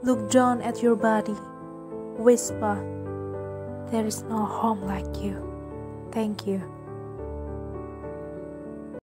Look down at your body. Whisper, there is no home like you. Thank you.